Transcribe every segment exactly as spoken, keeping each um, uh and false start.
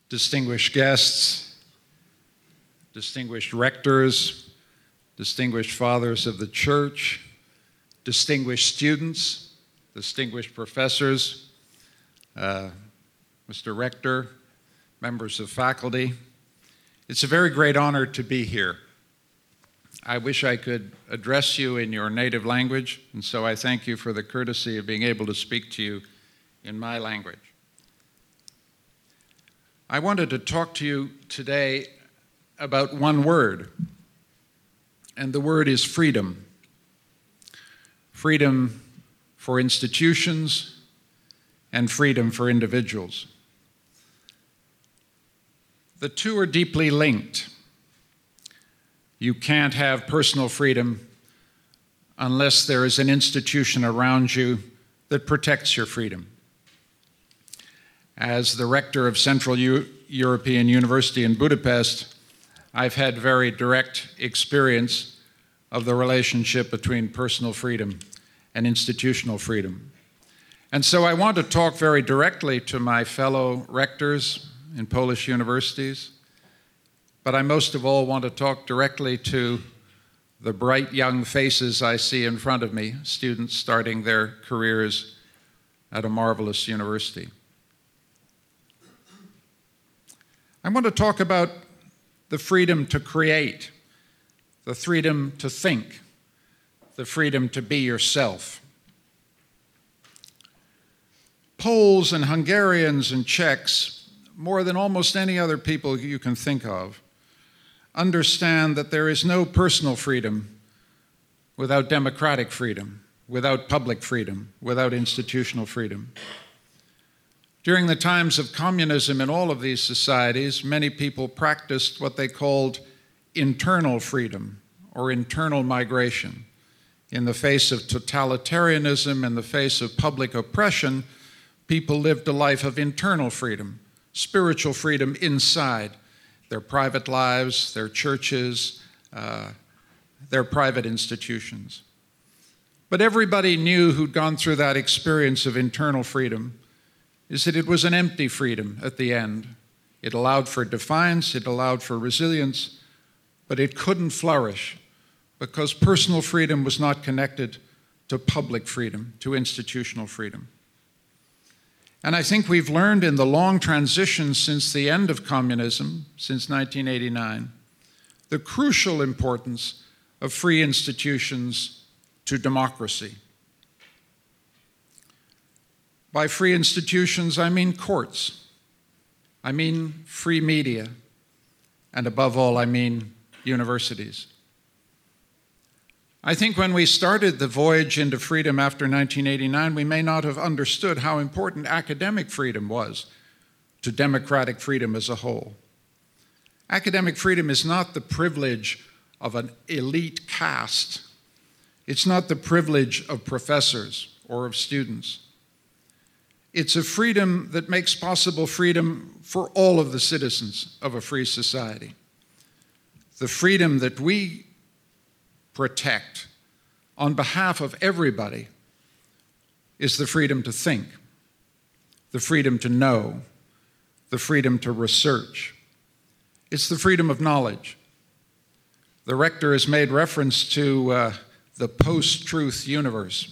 distinguished guests, distinguished rectors, distinguished fathers of the church, distinguished students, distinguished professors, uh, Mister Rector, members of faculty. It's a very great honor to be here. I wish I could address you in your native language, and so I thank you for the courtesy of being able to speak to you in my language. I wanted to talk to you today about one word, and the word is freedom. Freedom for institutions and freedom for individuals. The two are deeply linked. You can't have personal freedom unless there is an institution around you that protects your freedom. As the rector of Central U- European University in Budapest, I've had very direct experience of the relationship between personal freedom and institutional freedom. And so I want to talk very directly to my fellow rectors in Polish universities, but I most of all want to talk directly to the bright young faces I see in front of me, students starting their careers at a marvelous university. I want to talk about the freedom to create, the freedom to think, the freedom to be yourself. Poles and Hungarians and Czechs, more than almost any other people you can think of, understand that there is no personal freedom without democratic freedom, without public freedom, without institutional freedom. During the times of communism in all of these societies, many people practiced what they called internal freedom or internal migration. In the face of totalitarianism, in the face of public oppression, people lived a life of internal freedom, spiritual freedom inside their private lives, their churches, uh, their private institutions. But everybody knew who'd gone through that experience of internal freedom is that it was an empty freedom at the end. It allowed for defiance, it allowed for resilience, but it couldn't flourish because personal freedom was not connected to public freedom, to institutional freedom. And I think we've learned in the long transition since the end of communism, since nineteen eighty-nine, the crucial importance of free institutions to democracy. By free institutions, I mean courts, I mean free media, and above all, I mean universities. I think when we started the voyage into freedom after nineteen eighty-nine, we may not have understood how important academic freedom was to democratic freedom as a whole. Academic freedom is not the privilege of an elite caste. It's not the privilege of professors or of students. It's a freedom that makes possible freedom for all of the citizens of a free society. The freedom that we protect on behalf of everybody is the freedom to think, the freedom to know, the freedom to research. It's the freedom of knowledge. The rector has made reference to uh, the post-truth universe.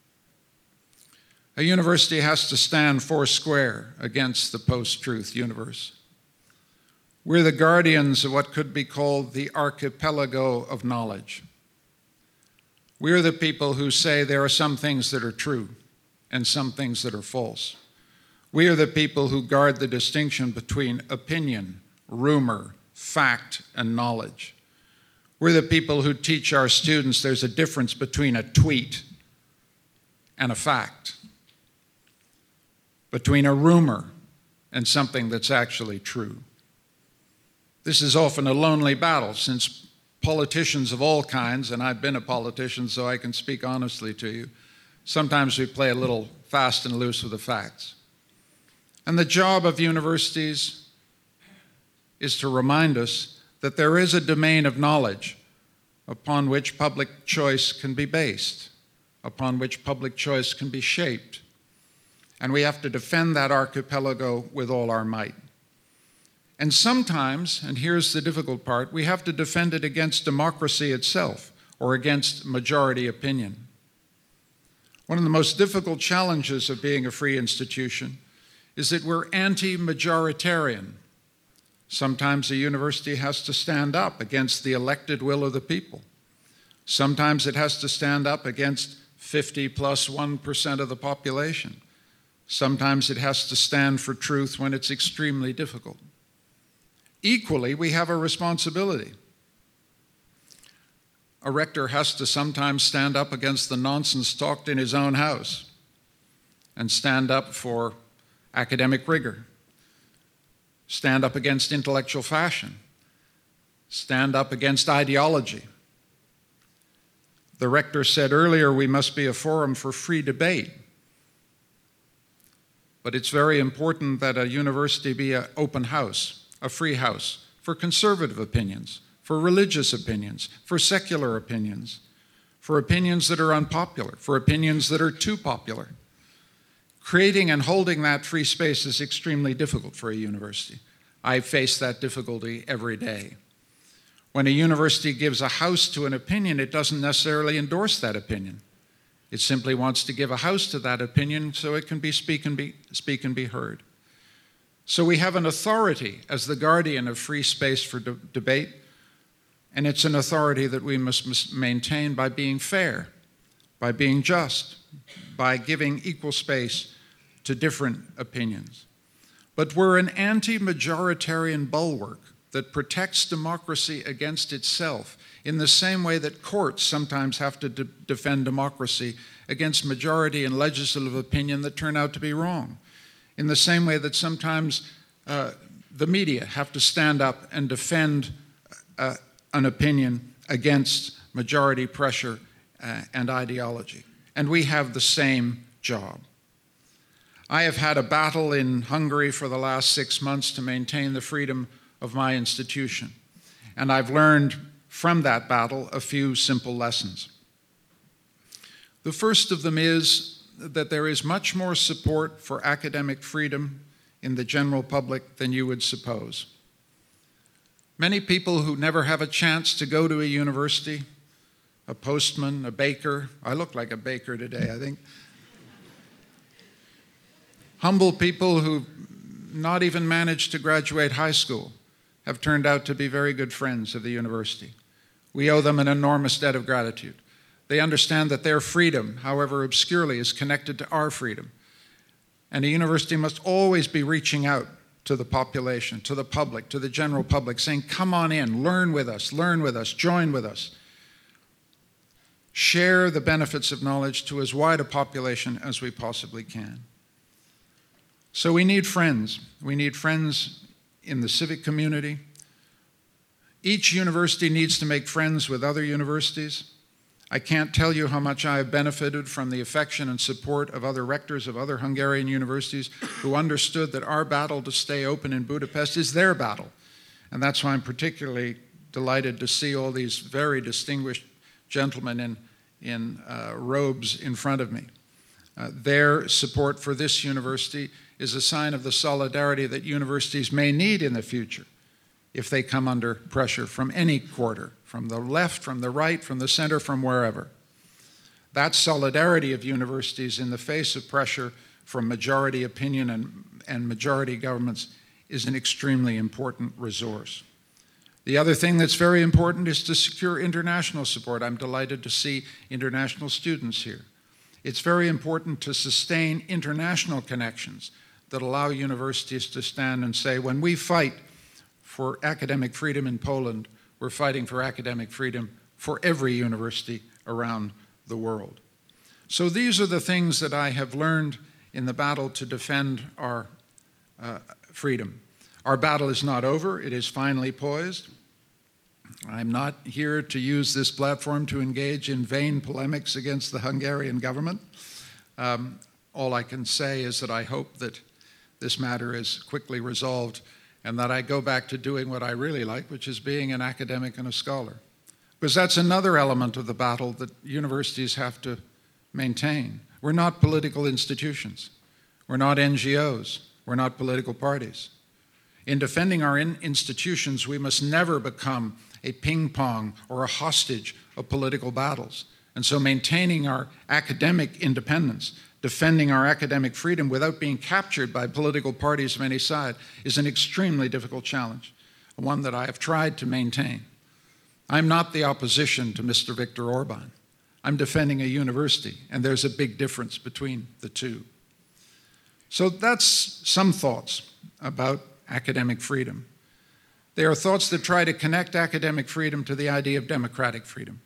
A university has to stand four square against the post-truth universe. We're the guardians of what could be called the archipelago of knowledge. We're the people who say there are some things that are true and some things that are false. We are the people who guard the distinction between opinion, rumor, fact, and knowledge. We're the people who teach our students there's a difference between a tweet and a fact, between a rumor and something that's actually true. This is often a lonely battle, since politicians of all kinds, and I've been a politician so I can speak honestly to you, sometimes we play a little fast and loose with the facts. And the job of universities is to remind us that there is a domain of knowledge upon which public choice can be based, upon which public choice can be shaped. And we have to defend that archipelago with all our might. And sometimes, and here's the difficult part, we have to defend it against democracy itself or against majority opinion. One of the most difficult challenges of being a free institution is that we're anti-majoritarian. Sometimes a university has to stand up against the elected will of the people. Sometimes it has to stand up against fifty plus one percent of the population. Sometimes it has to stand for truth when it's extremely difficult. Equally, we have a responsibility. A rector has to sometimes stand up against the nonsense talked in his own house and stand up for academic rigor, stand up against intellectual fashion, stand up against ideology. The rector said earlier we must be a forum for free debate. But it's very important that a university be an open house, a free house, for conservative opinions, for religious opinions, for secular opinions, for opinions that are unpopular, for opinions that are too popular. Creating and holding that free space is extremely difficult for a university. I face that difficulty every day. When a university gives a house to an opinion, it doesn't necessarily endorse that opinion. It simply wants to give a house to that opinion so it can be speak and be, speak and be heard. So we have an authority as the guardian of free space for de- debate, and it's an authority that we must maintain by being fair, by being just, by giving equal space to different opinions. But we're an anti-majoritarian bulwark that protects democracy against itself in the same way that courts sometimes have to de- defend democracy against majority and legislative opinion that turn out to be wrong, in the same way that sometimes uh, the media have to stand up and defend uh, an opinion against majority pressure uh, and ideology. And we have the same job. I have had a battle in Hungary for the last six months to maintain the freedom of my institution, and I've learned from that battle a few simple lessons. The first of them is that there is much more support for academic freedom in the general public than you would suppose. Many people who never have a chance to go to a university, a postman, a baker, I look like a baker today, I think, humble people who not even managed to graduate high school have turned out to be very good friends of the university. We owe them an enormous debt of gratitude. They understand that their freedom, however obscurely, is connected to our freedom. And a university must always be reaching out to the population, to the public, to the general public, saying, come on in, learn with us, learn with us, join with us. Share the benefits of knowledge to as wide a population as we possibly can. So we need friends. We need friends in the civic community. Each university needs to make friends with other universities. I can't tell you how much I have benefited from the affection and support of other rectors of other Hungarian universities who understood that our battle to stay open in Budapest is their battle. And that's why I'm particularly delighted to see all these very distinguished gentlemen in, in uh, robes in front of me. Uh, their support for this university is a sign of the solidarity that universities may need in the future if they come under pressure from any quarter, from the left, from the right, from the center, from wherever. That solidarity of universities in the face of pressure from majority opinion and, and majority governments is an extremely important resource. The other thing that's very important is to secure international support. I'm delighted to see international students here. It's very important to sustain international connections that allow universities to stand and say, when we fight for academic freedom in Poland, we're fighting for academic freedom for every university around the world. So these are the things that I have learned in the battle to defend our uh, freedom. Our battle is not over. It is finally poised. I'm not here to use this platform to engage in vain polemics against the Hungarian government. Um, all I can say is that I hope that this matter is quickly resolved and that I go back to doing what I really like, which is being an academic and a scholar. Because that's another element of the battle that universities have to maintain. We're not political institutions. We're not N G Os. We're not political parties. In defending our in- institutions, we must never become a ping pong or a hostage of political battles. And so maintaining our academic independence, defending our academic freedom without being captured by political parties of any side is an extremely difficult challenge, one that I have tried to maintain. I'm not the opposition to Mister Viktor Orban. I'm defending a university, and there's a big difference between the two. So that's some thoughts about academic freedom. They are thoughts that try to connect academic freedom to the idea of democratic freedom.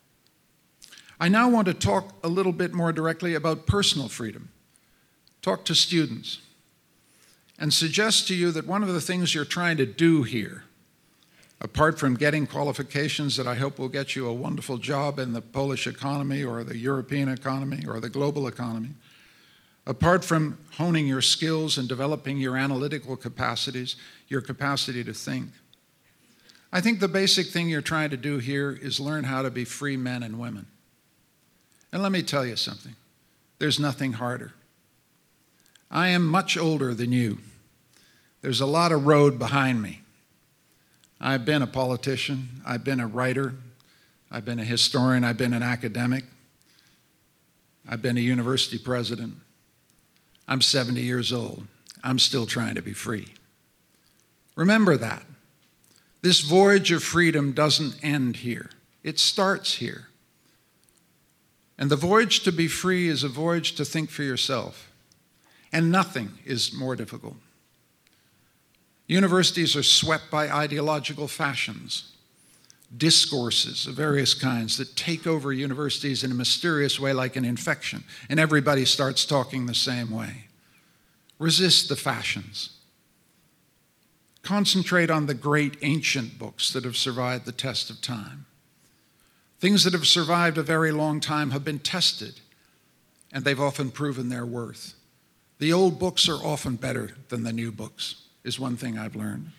I now want to talk a little bit more directly about personal freedom, talk to students, and suggest to you that one of the things you're trying to do here, apart from getting qualifications that I hope will get you a wonderful job in the Polish economy or the European economy or the global economy, apart from honing your skills and developing your analytical capacities, your capacity to think, I think the basic thing you're trying to do here is learn how to be free men and women. And let me tell you something, there's nothing harder. I am much older than you. There's a lot of road behind me. I've been a politician, I've been a writer, I've been a historian, I've been an academic, I've been a university president. I'm seventy years old. I'm still trying to be free. Remember that. This voyage of freedom doesn't end here. It starts here. And the voyage to be free is a voyage to think for yourself. And nothing is more difficult. Universities are swept by ideological fashions, discourses of various kinds that take over universities in a mysterious way like an infection, and everybody starts talking the same way. Resist the fashions. Concentrate on the great ancient books that have survived the test of time. Things that have survived a very long time have been tested, and they've often proven their worth. The old books are often better than the new books, is one thing I've learned.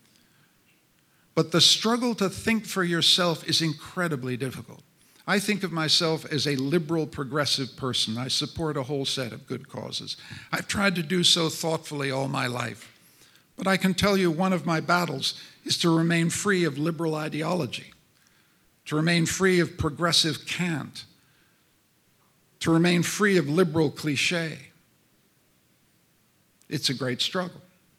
But the struggle to think for yourself is incredibly difficult. I think of myself as a liberal, progressive person. I support a whole set of good causes. I've tried to do so thoughtfully all my life. But I can tell you one of my battles is to remain free of liberal ideology, to remain free of progressive cant, to remain free of liberal cliché. It's a great struggle.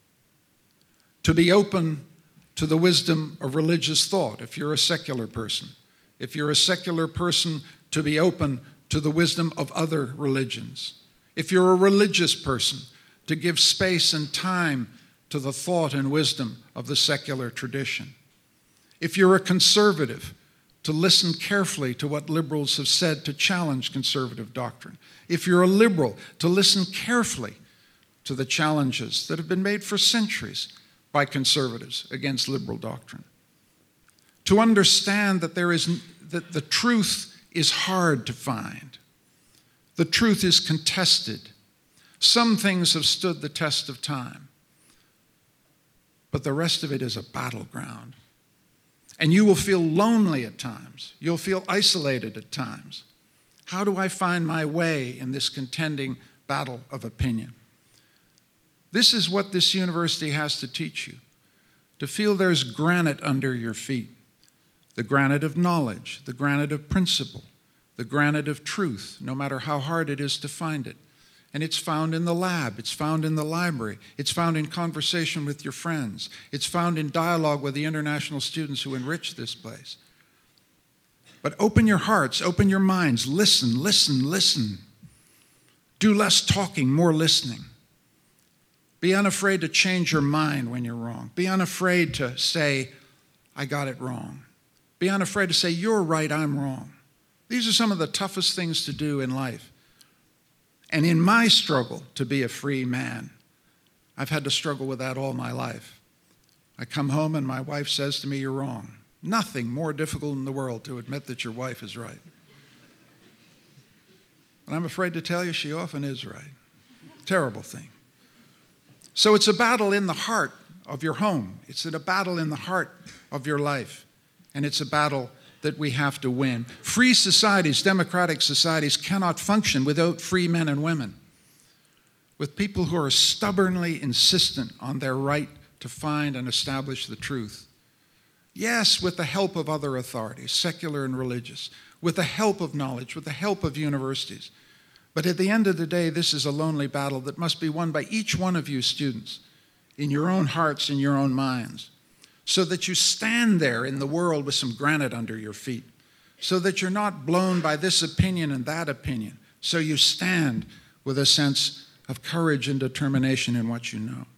To be open to the wisdom of religious thought, if you're a secular person. If you're a secular person, to be open to the wisdom of other religions. If you're a religious person, to give space and time to the thought and wisdom of the secular tradition. If you're a conservative, to listen carefully to what liberals have said to challenge conservative doctrine. If you're a liberal, to listen carefully to the challenges that have been made for centuries by conservatives against liberal doctrine. To understand that there is that the truth is hard to find. The truth is contested. Some things have stood the test of time, but the rest of it is a battleground. And you will feel lonely at times. You'll feel isolated at times. How do I find my way in this contending battle of opinion? This is what this university has to teach you, to feel there's granite under your feet, the granite of knowledge, the granite of principle, the granite of truth, no matter how hard it is to find it. And it's found in the lab, it's found in the library, it's found in conversation with your friends, it's found in dialogue with the international students who enrich this place. But open your hearts, open your minds, listen, listen, listen. Do less talking, more listening. Be unafraid to change your mind when you're wrong. Be unafraid to say, I got it wrong. Be unafraid to say, you're right, I'm wrong. These are some of the toughest things to do in life. And in my struggle to be a free man, I've had to struggle with that all my life. I come home and my wife says to me, you're wrong. Nothing more difficult in the world to admit that your wife is right. And I'm afraid to tell you she often is right. Terrible thing. So it's a battle in the heart of your home. It's a battle in the heart of your life. And it's a battle that we have to win. Free societies, democratic societies, cannot function without free men and women, with people who are stubbornly insistent on their right to find and establish the truth. Yes, with the help of other authorities, secular and religious, with the help of knowledge, with the help of universities. But at the end of the day, this is a lonely battle that must be won by each one of you students, in your own hearts, in your own minds, so that you stand there in the world with some granite under your feet, so that you're not blown by this opinion and that opinion, so you stand with a sense of courage and determination in what you know.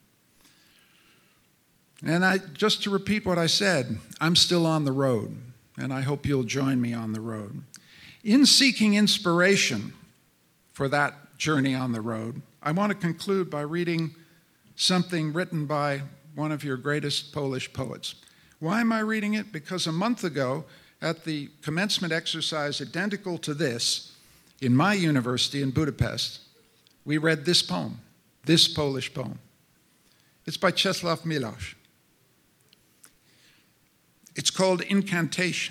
And I, just to repeat what I said, I'm still on the road, and I hope you'll join me on the road. In seeking inspiration for that journey on the road, I want to conclude by reading something written by one of your greatest Polish poets. Why am I reading it? Because a month ago, at the commencement exercise identical to this, in my university in Budapest, we read this poem, this Polish poem. It's by Czesław Miłosz. It's called Incantation.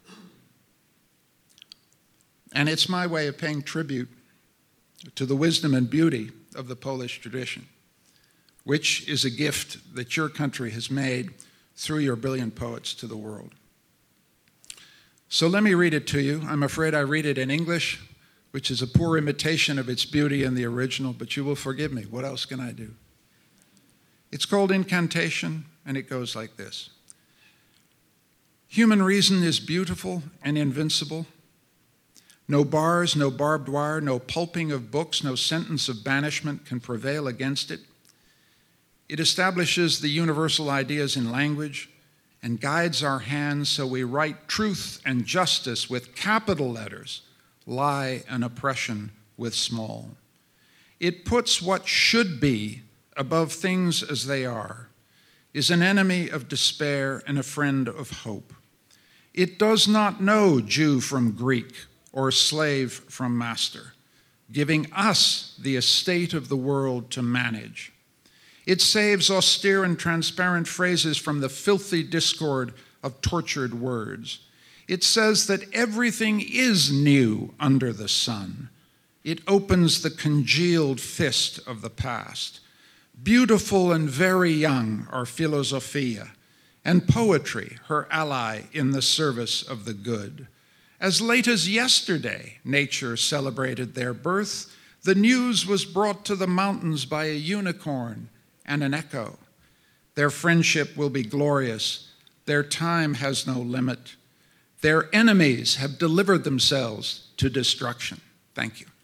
And it's my way of paying tribute to the wisdom and beauty of the Polish tradition, which is a gift that your country has made through your brilliant poets to the world. So let me read it to you. I'm afraid I read it in English, which is a poor imitation of its beauty in the original, but you will forgive me. What else can I do? It's called Incantation, and it goes like this. Human reason is beautiful and invincible. No bars, no barbed wire, no pulping of books, no sentence of banishment can prevail against it. It establishes the universal ideas in language and guides our hands so we write truth and justice with capital letters, lie and oppression with small. It puts what should be above things as they are, is an enemy of despair and a friend of hope. It does not know Jew from Greek or slave from master, giving us the estate of the world to manage. It saves austere and transparent phrases from the filthy discord of tortured words. It says that everything is new under the sun. It opens the congealed fist of the past. Beautiful and very young are philosophia, and poetry, her ally in the service of the good. As late as yesterday, nature celebrated their birth. The news was brought to the mountains by a unicorn and an echo. Their friendship will be glorious. Their time has no limit. Their enemies have delivered themselves to destruction. Thank you.